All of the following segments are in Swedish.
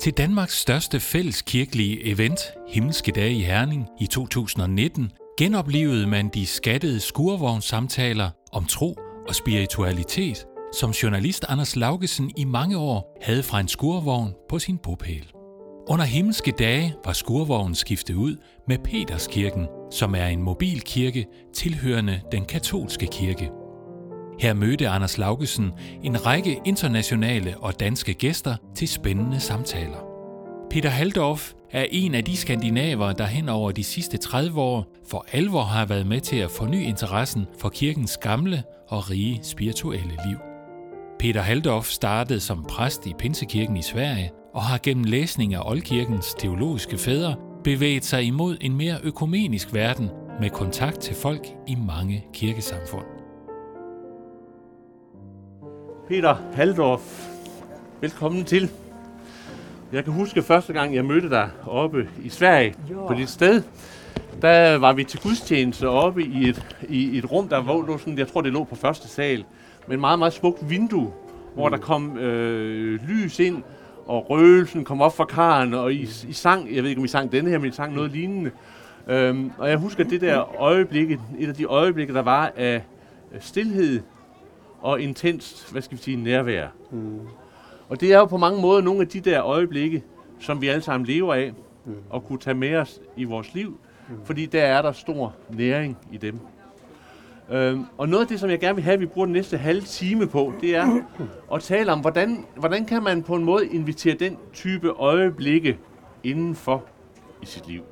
Til Danmarks største fælleskirkelige event, Himmelske Dage i Herning i 2019, genoplevede man de skattede skurvognssamtaler om tro og spiritualitet, som journalist Anders Laugesen i mange år havde fra en skurvogn på sin bopæl. Under Himmelske Dage var skurvognen skiftet ud med Peterskirken, som er en mobilkirke tilhørende den katolske kirke. Her mødte Anders Laugesen en række internationale og danske gæster til spændende samtaler. Peter Halldorf er en af de skandinaver, der hen over de sidste 30 år for alvor har været med til at forny interessen for kirkens gamle og rige spirituelle liv. Peter Halldorf startede som præst i Pinsekirken i Sverige og har gennem læsning af oldkirkens teologiske fædre bevæget sig imod en mere økumenisk verden med kontakt til folk i mange kirkesamfund. Peter Halldorf, velkommen til. Jeg kan huske første gang, jeg mødte dig oppe i Sverige på dit sted. Der var vi til gudstjeneste oppe i et rum, der lå sådan, jeg tror det lå på første sal, med et meget, meget smukt vindue, hvor der kom lys ind, og røgelsen kom op fra karen, og I sang, jeg ved ikke om I sang denne her, men I sang noget lignende. Og jeg husker det der øjeblik, et af de øjeblikke, der var af stilhed og intenst, nærvær. Og det er jo på mange måder nogle af de der øjeblikke, som vi alle sammen lever af, og kunne tage med os i vores liv, fordi der er der stor næring i dem. Og noget af det, som jeg gerne vil have, at vi bruger den næste halve time på, det er at tale om, hvordan kan man på en måde invitere den type øjeblikke indenfor i sit liv.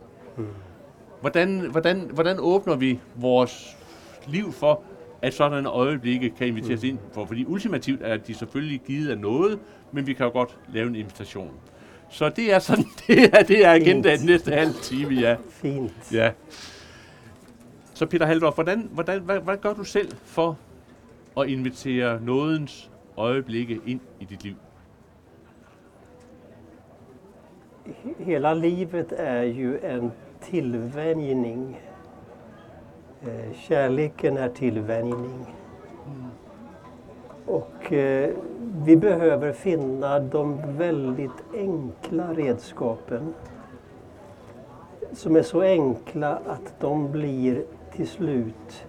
Hvordan åbner vi vores liv for, at sådan øjeblikke kan inviteres ind for? Fordi ultimativt er de selvfølgelig givet af noget, men vi kan jo godt lave en invitation. Så det er sådan, det er agendaen den næste halve time, ja. Fint. Ja. Så Peter Halldorf, hvad gør du selv for at invitere nådens øjeblikke ind i dit liv? Hela livet är ju en tillvänjning. Kärleken är tillvänjning. Och vi behöver finna de väldigt enkla redskapen som är så enkla att de blir till slut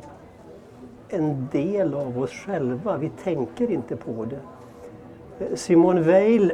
en del av oss själva. Vi tänker inte på det. Simone Weil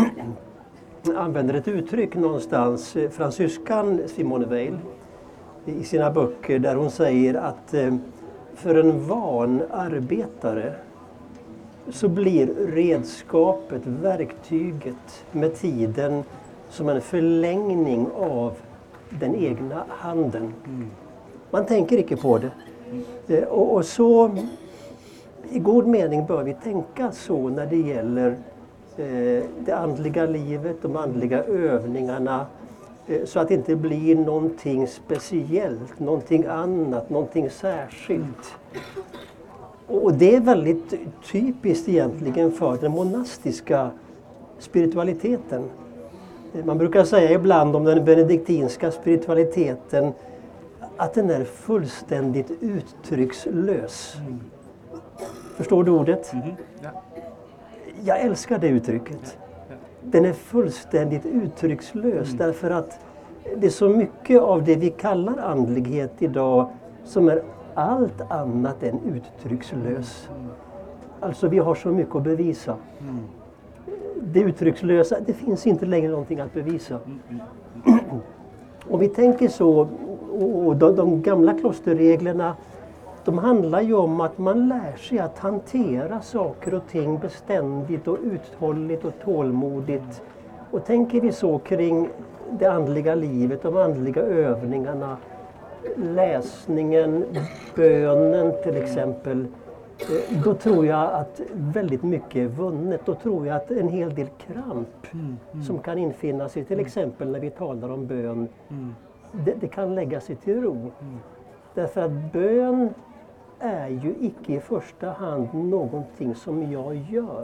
använder ett uttryck någonstans, fransyskan Simone Weil, i sina böcker där hon säger att för en van arbetare så blir redskapet, verktyget med tiden som en förlängning av den egna handen. Man tänker inte på det. Och så i god mening bör vi tänka så när det gäller det andliga livet, de andliga övningarna, så att det inte blir någonting speciellt, någonting annat, någonting särskilt. Och det är väldigt typiskt egentligen för den monastiska spiritualiteten. Man brukar säga ibland om den benediktinska spiritualiteten att den är fullständigt uttryckslös. Förstår du ordet? Ja. Jag älskar det uttrycket. Den är fullständigt uttryckslös därför att det är så mycket av det vi kallar andlighet idag som är allt annat än uttryckslös. Alltså vi har så mycket att bevisa. Det uttryckslösa, det finns inte längre någonting att bevisa. Och vi tänker så, och de gamla klosterreglerna, de handlar ju om att man lär sig att hantera saker och ting beständigt och uthålligt och tålmodigt. Och tänker vi så kring det andliga livet, de andliga övningarna, läsningen, bönen till exempel, då tror jag att väldigt mycket är vunnet. Då tror jag att en hel del kramp som kan infinna sig, till exempel när vi talar om bön, det kan lägga sig till ro. Därför att bön är ju icke i första hand någonting som jag gör.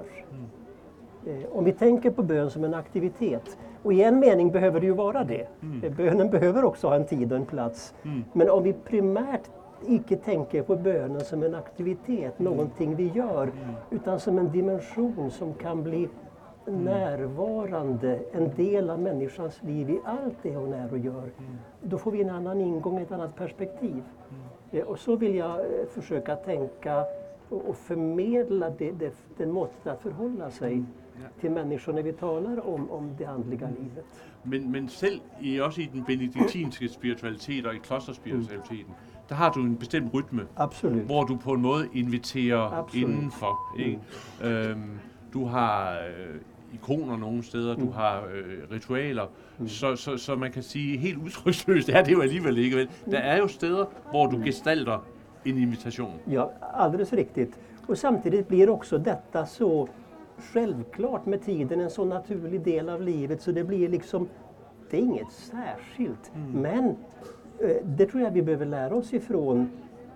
Om vi tänker på bön som en aktivitet, och i en mening behöver det ju vara det. Bönen behöver också ha en tid och en plats. Men om vi primärt icke tänker på bönen som en aktivitet, någonting vi gör, utan som en dimension som kan bli närvarande, en del av människans liv i allt det hon är och gör, då får vi en annan ingång, ett annat perspektiv. Och så vill jag försöka tänka och förmedla det måttet att förhålla sig till människor när vi talar om det andliga livet. Men selv også i den benediktinske spiritualitet og i klosterspiritualiteten, der har du en bestemt rytme, Absolut. hvor du på en måde inviterer Absolut. indenfor. Ikke? Du har ikoner nogle steder, du har ritualer, så man kan sige helt udtryksløst, det er jo alligevel ikke vel. Der er jo steder, hvor du gestalter en invitation. Ja, alldeles riktigt. Och samtidigt blir också detta så självklart med tiden, en så naturlig del av livet, så det blir liksom, det är inget särskilt. Men det tror jag vi behöver lära oss ifrån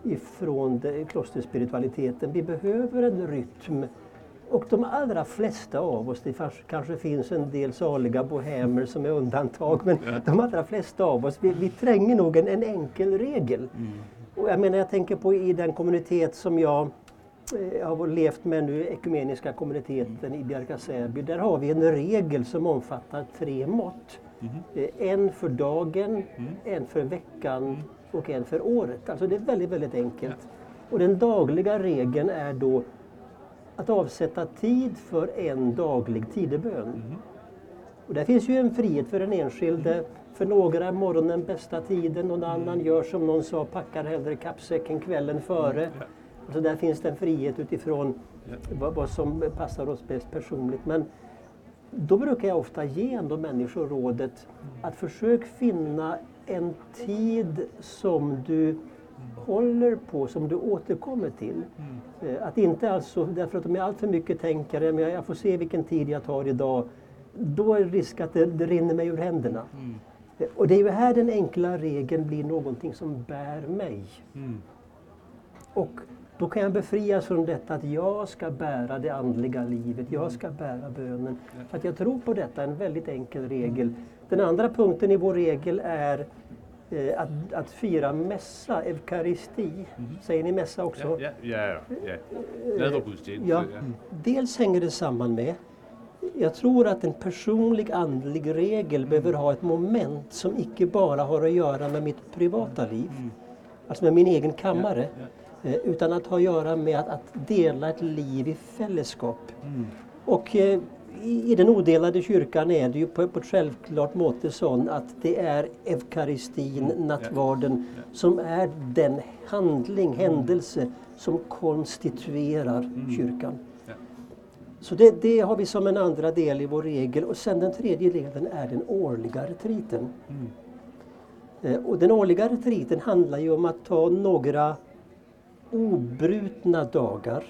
klosterspiritualiteten. Vi behöver en rytm. Och de allra flesta av oss, det kanske finns en del saliga bohemer som är undantag, men de allra flesta av oss, vi tränger nog en enkel regel. Och jag tänker på i den kommunitet som jag har levt med nu, ekumeniska kommuniteten i Bjärka/Säby, där har vi en regel som omfattar 3 mått. En för dagen, en för veckan och en för året. Alltså det är väldigt, väldigt enkelt. Och den dagliga regeln är då att avsätta tid för en daglig tidebön. Och där finns ju en frihet för den enskilde. För några är morgonen bästa tiden, någon annan gör som någon sa, packar hellre kappsäcken kvällen före. Så där finns det en frihet utifrån vad som passar oss bäst personligt. Men då brukar jag ofta ge ändå människor rådet att försök finna en tid som du håller på, som du återkommer till. Att inte alltså, därför att de är allt för mycket tänkare, men jag får se vilken tid jag tar idag, då är det risk att det rinner mig ur händerna. Och det är ju här den enkla regeln blir någonting som bär mig. Och då kan jag befrias från detta att jag ska bära det andliga livet, jag ska bära bönen. För att jag tror på detta, en väldigt enkel regel. Den andra punkten i vår regel är att fira mässa, eukaristi. Säger ni mässa också? Ja. Nadvergudstjeneste. Ja. Dels hänger det samman med, jag tror att en personlig andlig regel behöver ha ett moment som icke bara har att göra med mitt privata liv, alltså med min egen kammare, utan att ha att göra med att dela ett liv i fällskap. Och i den odelade kyrkan är det ju på ett självklart måte sån att det är eukaristin, nattvarden, som är den händelse som konstituerar kyrkan. Så det har vi som en andra del i vår regel. Och sen den tredje delen är den årliga retriten. Och den årliga retriten handlar ju om att ta några obrutna dagar.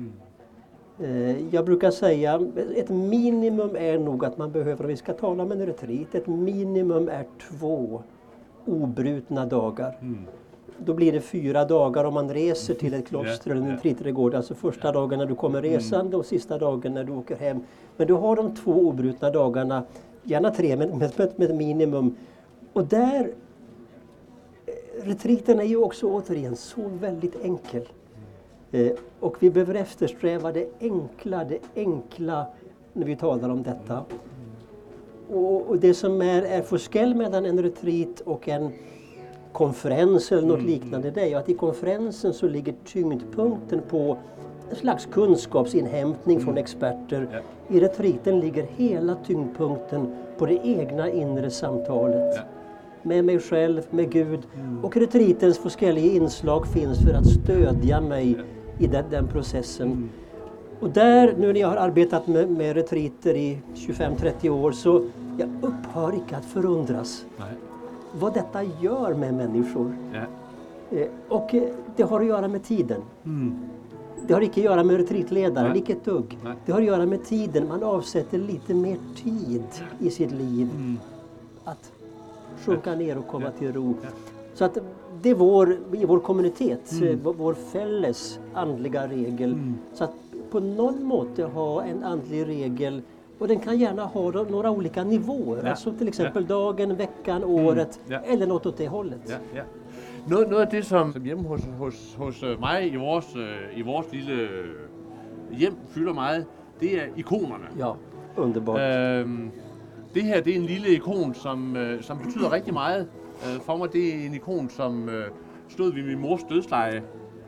Jag brukar säga ett minimum är nog att man behöver, om vi ska tala om en retreat, ett minimum är 2 obrutna dagar. Då blir det 4 dagar om man reser till ett kloster eller en retreatgård. Alltså första dagen när du kommer resande och sista dagen när du åker hem. Men du har de 2 obrutna dagarna, gärna 3 med ett minimum. Och där, retreaten är ju också återigen så väldigt enkel. Och vi behöver eftersträva det enkla när vi talar om detta. Och det som är forskel mellan en retreat och en konferens eller något liknande, det är ju att i konferensen så ligger tyngdpunkten på en slags kunskapsinhämtning från experter. I retreaten ligger hela tyngdpunkten på det egna inre samtalet. Med mig själv, med Gud. Och retreatens forskelliga inslag finns för att stödja mig i den processen. Och där, nu när jag har arbetat med retreater i 25-30 år, så jag upphör inte att förundras. Vad detta gör med människor. Och det har att göra med tiden. Det har inte att göra med retreatledaren, inte ett dugg. Det har att göra med tiden. Man avsätter lite mer tid i sitt liv att sjunka ner och komma till ro. Så att det är i vår kommunitet, vår fälles andliga regel. Så att på någon måte ha en andlig regel, och den kan gärna ha några olika nivåer. Alltså till exempel dagen, veckan, året eller något åt det hållet. Noget af det, som hjemme hos mig i vores lille hjem fylder meget, det er ikonerne. Underbart. Det her, det er en lille ikon, som betyder rigtig meget. For mig, det er en ikon, som stod ved min mors dødsleje.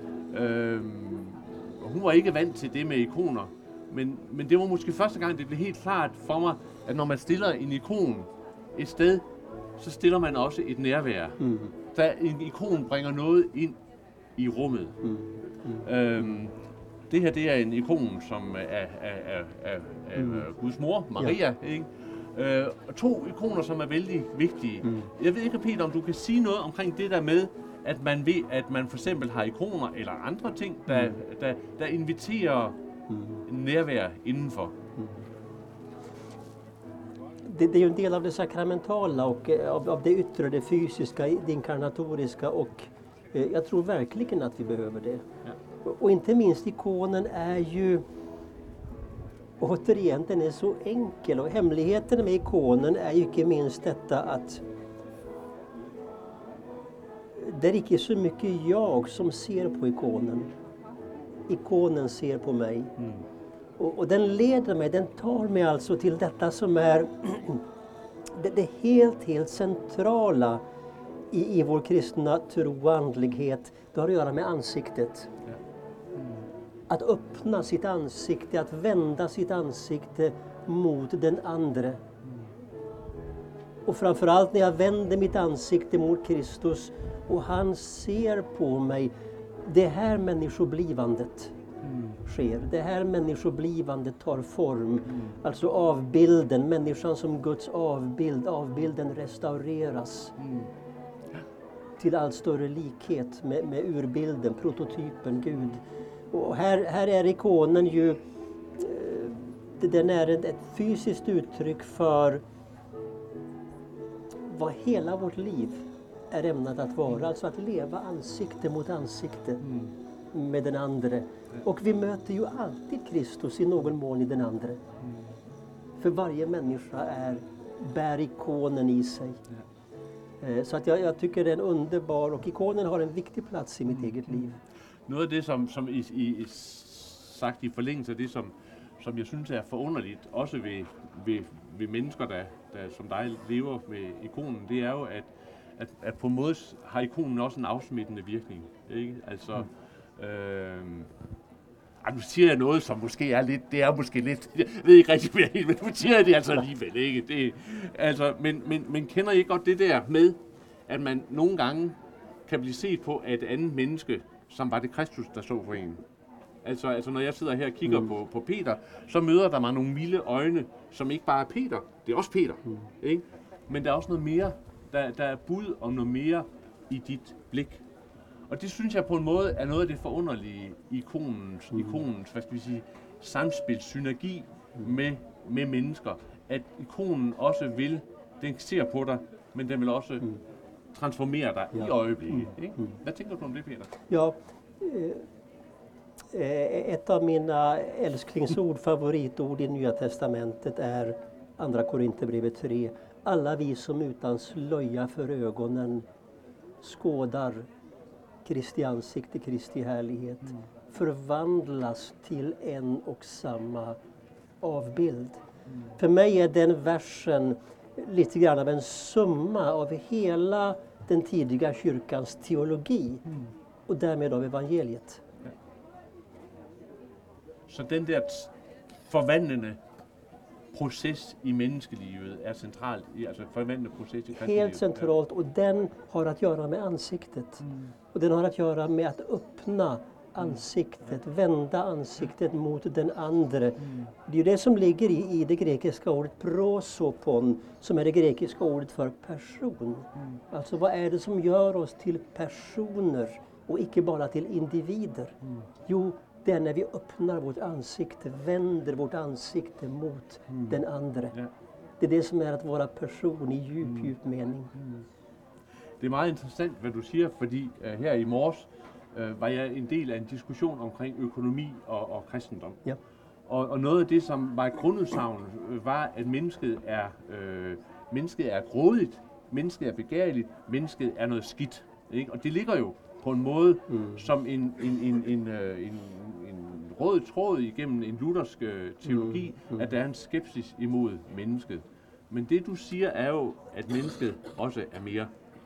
Hun var ikke vant til det med ikoner, men det var måske første gang, det blev helt klart for mig, at når man stiller en ikon et sted, så stiller man også et nærvær. Da en ikon bringer noget ind i rummet. Det her, det er en ikon, som er Guds mor, Maria, ikke? Og 2 ikoner, som er vældig vigtige. Jeg ved ikke, Peter, om du kan sige noget omkring det der med, at man ved, at man for eksempel har ikoner eller andre ting, der inviterer nærvær indenfor. Det är ju en del av det sakramentala och av det yttre, det fysiska, det inkarnatoriska och jag tror verkligen att vi behöver det. Ja. Och inte minst ikonen är ju, återigen, den är så enkel och hemligheten med ikonen är ju inte minst detta att det är inte så mycket jag som ser på ikonen. Ikonen ser på mig. Och den leder mig, den tar mig alltså till detta som är det helt centrala i vår kristna tro och andlighet. Det har att göra med ansiktet. Att öppna sitt ansikte, att vända sitt ansikte mot den andre. Och framförallt när jag vänder mitt ansikte mot Kristus och han ser på mig, det här människoblivandet sker. Det här människoblivandet tar form. Alltså avbilden, människan som Guds avbild, avbilden restaureras till allt större likhet med urbilden, prototypen, Gud. Och här är ikonen ju, den är ett fysiskt uttryck för vad hela vårt liv är ämnat att vara. Alltså att leva ansikte mot ansikte med den andre. Och vi möter ju alltid Kristus i någon mån i den andre. För varje människa bär ikonen i sig. Så att jag tycker det är en underbar, och ikonen har en viktig plats i mitt eget liv. Noget af det, som I sagt i forlængelse af det, som jeg synes er forunderligt, også ved mennesker, der som dig lever med ikonen, det er jo, at på en måde har ikonen også en afsmittende virkning. Ikke? Altså, nu siger jeg noget, som måske er lidt, det er måske lidt, jeg ved ikke rigtig mere helt, men nu siger jeg det altså alligevel, ikke? Det, altså, men kender I godt det der med, at man nogle gange kan blive set på af et andet menneske, som var det Kristus, der så for en? Altså når jeg sidder her og kigger på Peter, så møder der mig nogle milde øjne, som ikke bare er Peter, det er også Peter, ikke? Men der er også noget mere, der er bud om noget mere i dit blik. Og det synes jeg på en måde er noget af det forunderlige ikonens hvad skal vi sige, samspil, synergi med mennesker. At ikonen også vil, den ser på dig, men den vil også transformere dig i øjeblikket. Ikke? Hvad tænker du om det, Peter? Ja, ett av mina älsklingsord, favoritord i Nya Testamentet är Andra Korinthierbrevet 3. Alla vi som utan slöja för ögonen skådar Kristi ansikte, Kristi härlighet, förvandlas till en och samma avbild. För mig är den versen lite grann av en summa av hela den tidiga kyrkans teologi och därmed av evangeliet. Så den der forvandlende proces i menneskelivet är centralt, alltså forvandlende proces i kristelivet. Helt centralt, och den har att göra med ansiktet. Och den har att göra med att öppna ansiktet, vända ansiktet mot den andre. Det är ju det som ligger i det grekiska ordet prosopon, som är det grekiska ordet för person. Alltså vad är det som gör oss till personer och icke bara till individer? Jo, det är när vi öppnar vårt ansikte, vänder vårt ansikte mot den andre. Det är det som är att vara person i djup mening. Det er meget interessant, hvad du siger, fordi her i morges var jeg en del af en diskussion omkring økonomi og kristendom. Ja. Og noget af det, som var et grundudsagn, var, at mennesket er grådigt, mennesket er begærligt, mennesket er noget skidt. Ikke? Og det ligger jo på en måde som en rød tråd igennem en luthersk teologi, at der er en skepsis imod mennesket. Men det du siger er jo, at mennesket også er mere.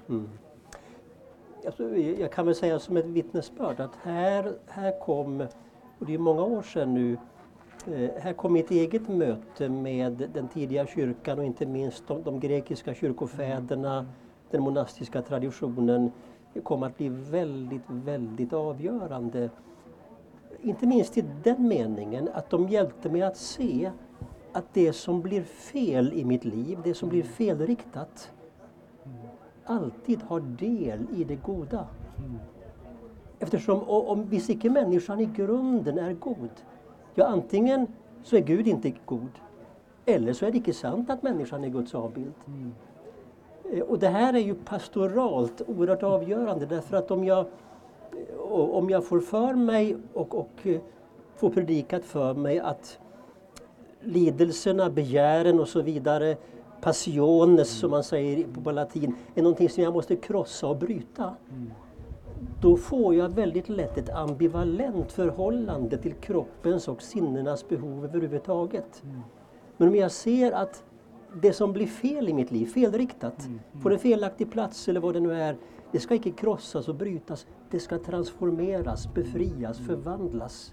Alltså, jag kan väl säga som ett vittnesbörd att här kom, och det är många år sedan nu, här kom mitt eget möte med den tidiga kyrkan och inte minst de grekiska kyrkofäderna, den monastiska traditionen. Det kom att bli väldigt, väldigt avgörande. Inte minst i den meningen att de hjälpte mig att se att det som blir fel i mitt liv, det som blir felriktat, alltid har del i det goda. Eftersom om visst icke människan i grunden är god, ja antingen så är Gud inte god, eller så är det icke sant att människan är Guds avbild. Och det här är ju pastoralt oerhört avgörande, därför att om jag får för mig och får predikat för mig att lidelserna, begären och så vidare, passiones som man säger på latin, är någonting som jag måste krossa och bryta. Då får jag väldigt lätt ett ambivalent förhållande till kroppens och sinnenas behov överhuvudtaget. Men om jag ser att det som blir fel i mitt liv, felriktat, på en felaktig plats eller vad det nu är, det ska inte krossas och brytas, det ska transformeras, befrias, förvandlas.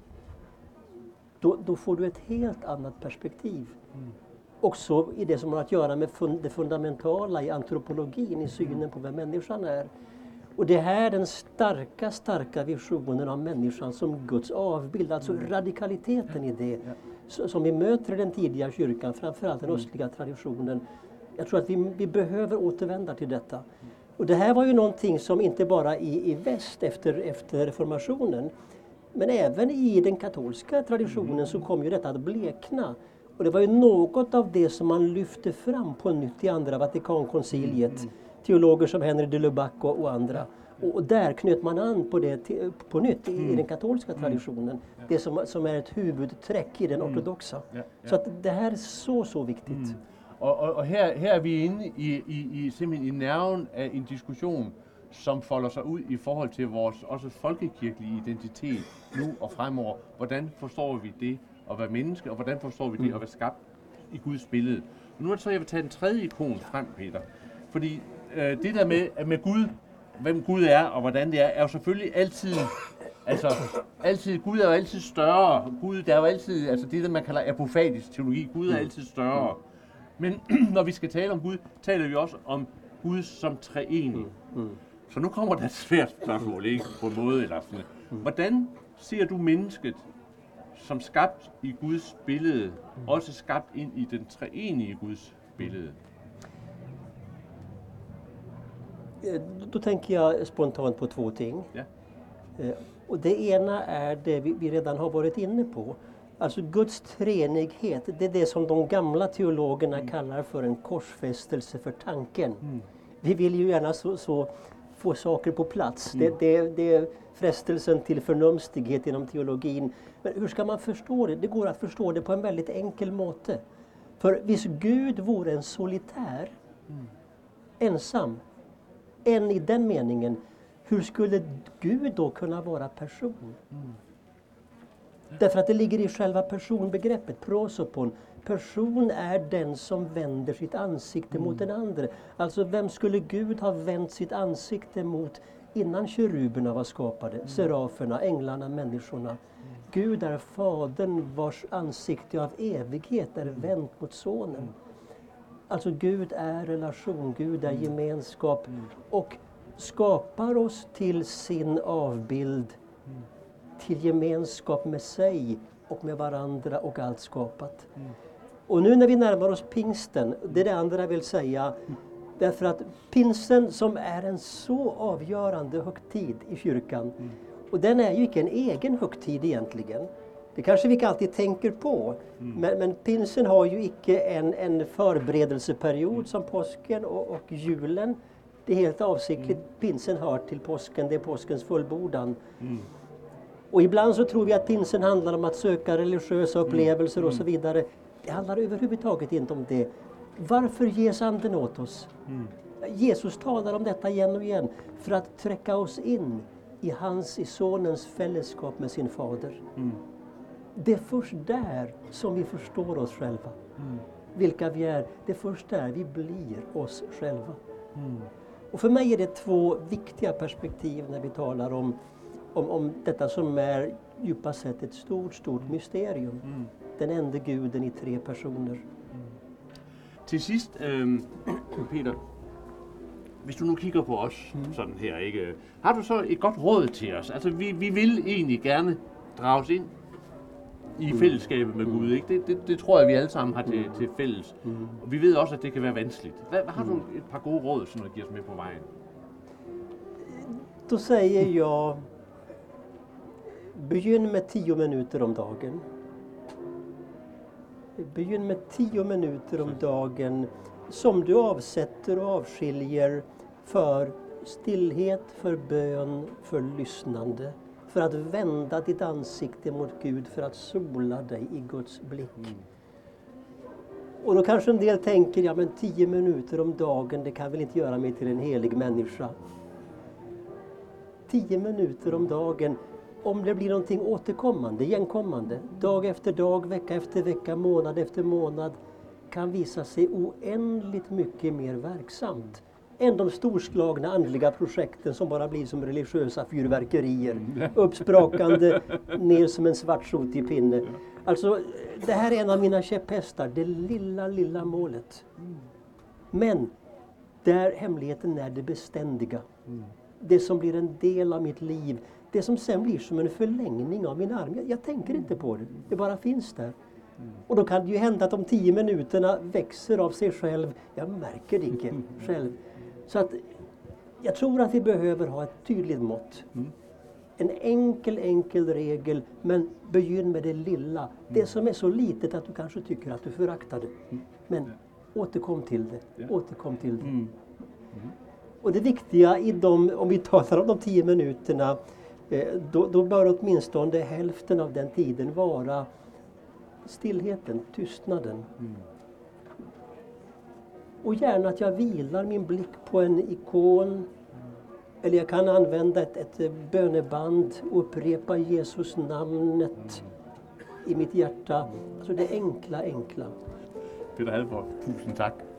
Då får du ett helt annat perspektiv. Också i det som har att göra med det fundamentala i antropologin, i synen på vem människan är. Och det här är den starka visionen av människan som Guds avbild, alltså radikaliteten i det som vi möter i den tidiga kyrkan, framförallt den östliga traditionen. Jag tror att vi behöver återvända till detta. Och det här var ju någonting som inte bara i väst efter reformationen, men även i den katolska traditionen så kom ju detta att blekna. Och det var ju något av det som man lyfte fram på nytt i andra Vatikankonciliet. Teologer som Henry de Lubac och andra. Och där knöt man an på det på nytt i den katolska traditionen. Det som är ett huvudträck i den ortodoxa. Så att det här är så viktigt. Og her er vi inde simpelthen i nerven af en diskussion, som folder sig ud i forhold til vores også folkekirkelige identitet nu og fremover. Hvordan forstår vi det at være menneske, og hvordan forstår vi det at være skabt i Guds billede? Men nu er det så, jeg vil tage den tredje ikon frem, Peter. Fordi det der med Gud, hvem Gud er og hvordan det er jo selvfølgelig altid, Gud er jo altid større. Gud, der er jo altid, altså det der man kalder apofatisk teologi, Gud er altid større. Men når vi skal tale om Gud, taler vi også om Gud som treenig. Så nu kommer der et svært spørgsmål, ikke? På en måde eller sådan. Hvordan ser du mennesket som skabt i Guds billede, også skabt ind i den treenige Guds billede? Då tänker jag spontant på två ting. Ja. Och det ena är det vi redan har varit inne på. Alltså Guds treenighet, det är det som de gamla teologerna kallar för en korsfästelse för tanken. Vi vill ju gärna så få saker på plats. Det är frestelsen till förnumstighet inom teologin. Men hur ska man förstå det? Det går att förstå det på en väldigt enkel måte. För visst Gud vore en solitär, ensam, en i den meningen, hur skulle Gud då kunna vara person? Därför att det ligger i själva personbegreppet, prosopon. Person är den som vänder sitt ansikte mot den andra. Alltså vem skulle Gud ha vänt sitt ansikte mot innan keruberna var skapade? Seraferna, änglarna, människorna. Gud är fadern vars ansikte av evighet är vänt mot sonen. Alltså Gud är relation, Gud är gemenskap och skapar oss till sin avbild, till gemenskap med sig och med varandra och allt skapat. Och nu när vi närmar oss pingsten, det är det andra jag vill säga, därför att pingsten som är en så avgörande högtid i kyrkan, och den är ju inte en egen högtid egentligen. Det kanske vi inte alltid tänker på, men pinsen har ju icke en förberedelseperiod som påsken och julen. Det är helt avsiktligt, pinsen hör till påsken, det är påskens fullbordan. Och ibland så tror vi att pinsen handlar om att söka religiösa upplevelser och så vidare. Det handlar överhuvudtaget inte om det. Varför ges anden åt oss? Jesus talar om detta igen och igen för att träcka oss in i sonens fällskap med sin fader. Det är först där som vi förstår oss själva. Vilka vi är. Det är först där vi blir oss själva. Och för mig är det två viktiga perspektiv när vi talar om detta som är djupast sett ett stort mysterium. Den enda guden i 3 personer. Til sidst, Peter, hvis du nu kigger på os sådan her, ikke? Har du så et godt råd til os? Altså, vi vil egentlig gerne drages ind i fællesskabet med Gud, ikke? Det tror jeg, vi alle sammen har til fælles. Og vi ved også, at det kan være vanskeligt. Har du et par gode råd, som du giver os med på vejen? Då säger jag, begynn med 10 minuter om dagen. Begynn med 10 minuter om dagen som du avsätter och avskiljer för stillhet, för bön, för lyssnande. För att vända ditt ansikte mot Gud, för att sola dig i Guds blick. Och då kanske en del tänker, ja men 10 minuter om dagen, det kan väl inte göra mig till en helig människa. 10 minuter om dagen, om det blir någonting återkommande, igenkommande, dag efter dag, vecka efter vecka, månad efter månad, kan visa sig oändligt mycket mer verksamt än de storslagna andliga projekten som bara blir som religiösa fyrverkerier. Uppsprakande ner som en svartsotig pinne. Alltså, det här är en av mina käpphästar, det lilla målet. Men där hemligheten är det beständiga. Det som blir en del av mitt liv. Det som sen blir som en förlängning av min arm. Jag tänker inte på det. Det bara finns där. Och då kan det ju hända att de 10 minuterna växer av sig själv. Jag märker det inte själv. Så att jag tror att vi behöver ha ett tydligt mått. En enkel regel, men begynn med det lilla. Det som är så litet att du kanske tycker att du föraktar det. Men återkom till det. Återkom till det. Och det viktiga i om vi talar om de 10 minuterna, då bör åtminstone hälften av den tiden vara stillheten, tystnaden. Och gärna att jag vilar min blick på en ikon. Eller jag kan använda ett böneband och upprepa Jesus namnet i mitt hjärta. Alltså det enkla. Peter Halldorf, tusind tak.